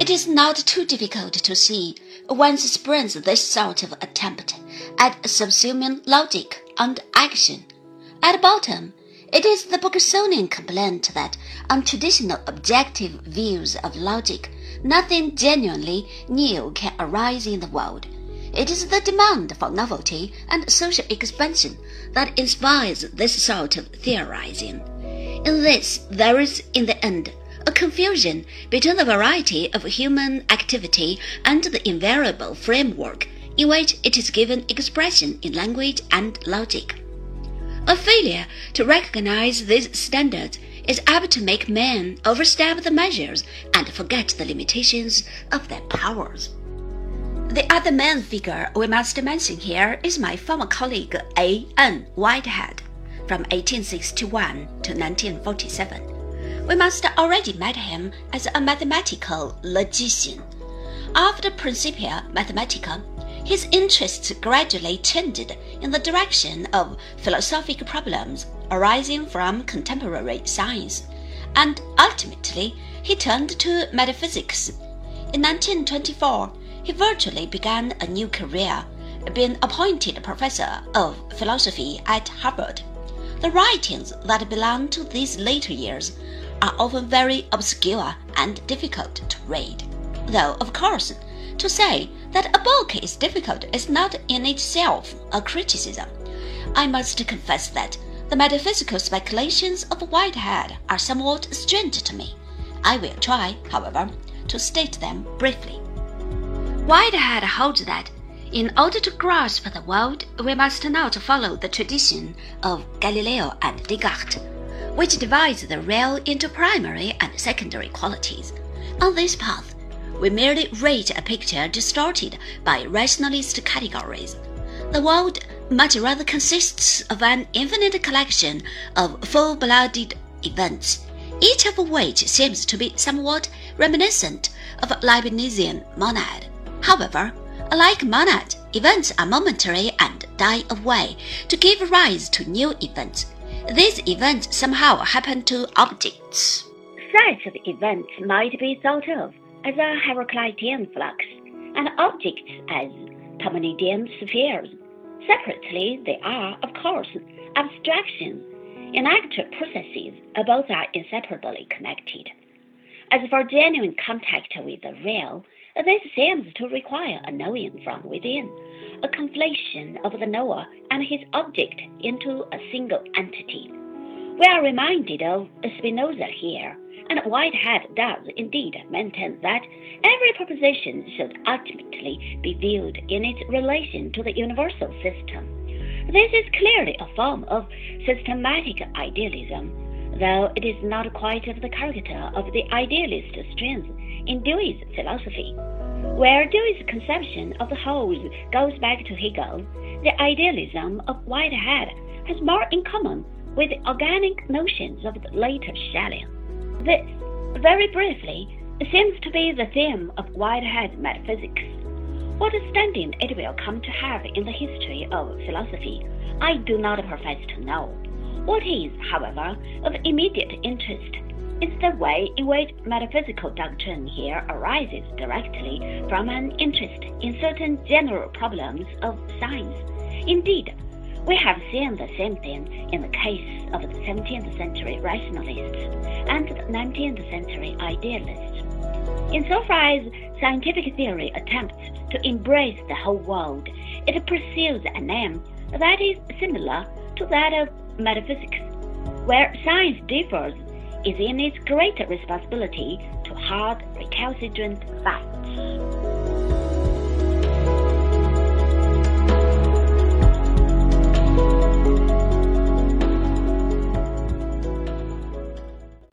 It is not too difficult to see whence springs this sort of attempt at subsuming logic and action. At bottom, it is the Bergsonian complaint that on traditional objective views of logic, nothing genuinely new can arise in the world. It is the demand for novelty and social expansion that inspires this sort of theorizing. In this, there is, in the end, a confusion between the variety of human activity and the invariable framework in which it is given expression in language and logic. A failure to recognize these standards is apt to make men overstep the measures and forget the limitations of their powers. The other main figure we must mention here is my former colleague A. N. Whitehead, from 1861 to 1947. We must already met him as a mathematical logician. After Principia Mathematica, his interests gradually changed in the direction of philosophic problems arising from contemporary science, and ultimately he turned to metaphysics. In 1924, he virtually began a new career, being appointed professor of philosophy at Harvard. The writings that belong to these later years are often very obscure and difficult to read, though, of course, to say that a book is difficult is not in itself a criticism. I must confess that the metaphysical speculations of Whitehead are somewhat strange to me. I will try, however, to state them briefly. Whitehead holds that in order to grasp the world, we must not follow the tradition of Galileo and Descartes, which divides the real into primary and secondary qualities. On this path, we merely read a picture distorted by rationalist categories. The world much rather consists of an infinite collection of full-blooded events, each of which seems to be somewhat reminiscent of a Leibnizian monad. However, like monad, events are momentary and die away to give rise to new events. These events somehow happen to objects. Such of events might be thought of as a Heraclitean flux, and objects as Parmenidean spheres. Separately, they are, of course, abstractions. In actual processes, both are inseparably connected. As for genuine contact with the real, this seems to require a knowing from within, a conflation of the knower and his object into a single entity. We are reminded of Spinoza here, and Whitehead does indeed maintain that every proposition should ultimately be viewed in its relation to the universal system. This is clearly a form of systematic idealism, though it is not quite of the character of the idealist strains in Dewey's philosophy. Where Dewey's conception of the whole goes back to Hegel, the idealism of Whitehead has more in common with the organic notions of the later Schelling. This, very briefly, seems to be the theme of Whitehead's metaphysics. What standing it will come to have in the history of philosophy, I do not profess to know. What is, however, of immediate interest is the way in which metaphysical doctrine here arises directly from an interest in certain general problems of science. Indeed, we have seen the same thing in the case of the 17th century rationalists and the 19th century idealists. Insofar as scientific theory attempts to embrace the whole world, it pursues an aim that is similar to that of metaphysics. Where science differs is in its greater responsibility to hard, recalcitrant facts.